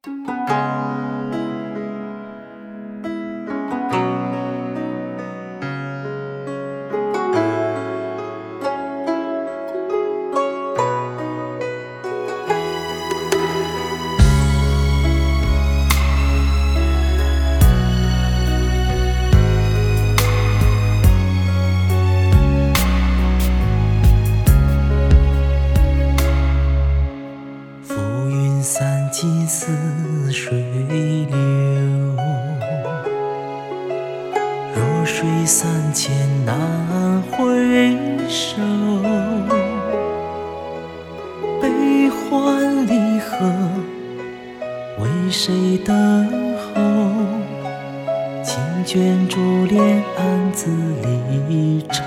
散尽似水流，弱水三千难回首。悲欢离合，为谁等候？情卷珠帘，暗自离愁。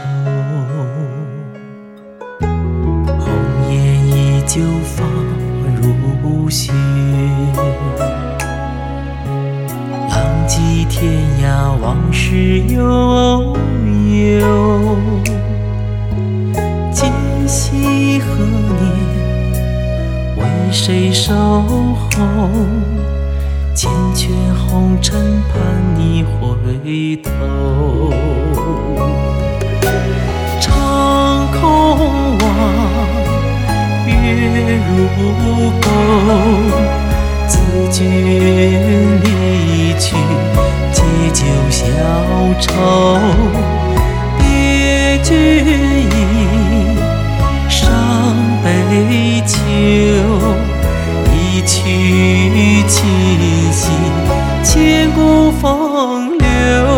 红颜依旧放如雪，浪迹天涯，往事悠悠。今夕何年，为谁守候？缱绻红尘，盼你回头。长空望，月如钩，自君离去，借酒消愁。别君意，伤悲秋，一曲清溪，千古风流。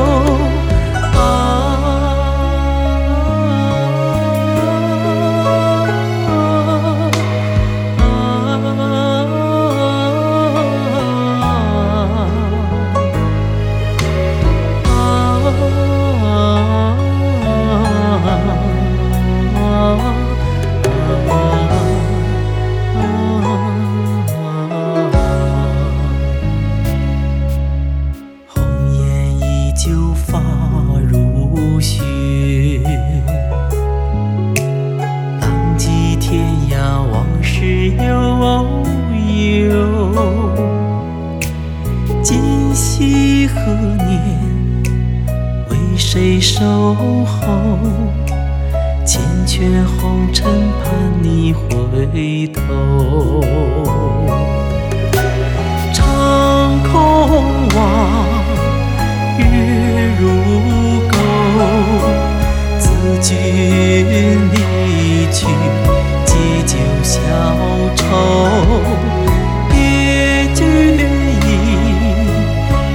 浪迹天涯，往事悠悠。今夕何年，为谁守候？缱绻红尘，盼你回头。长空望，月如钩，自君离去，借酒消愁。别君意，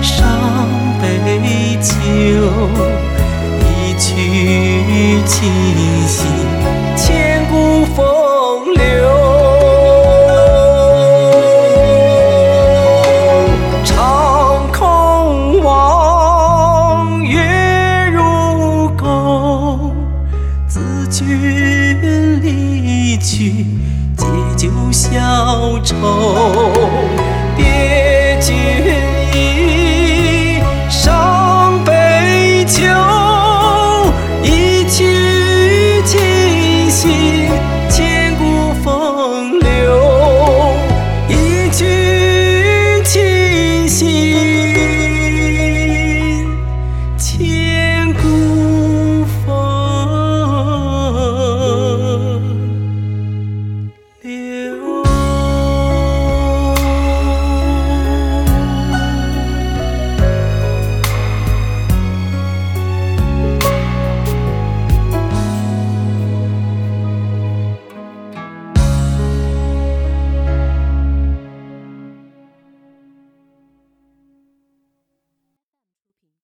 伤悲秋，一曲清